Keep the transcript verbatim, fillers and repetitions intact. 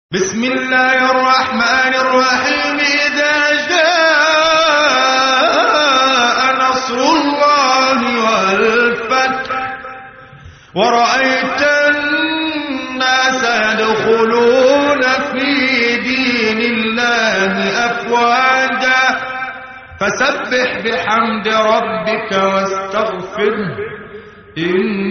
بسم الله الرحمن الرحيم. إذا جاء نصر الله والفتح ورأيت الناس يدخلون في دين الله أفواجا فسبح بحمد ربك واستغفره إن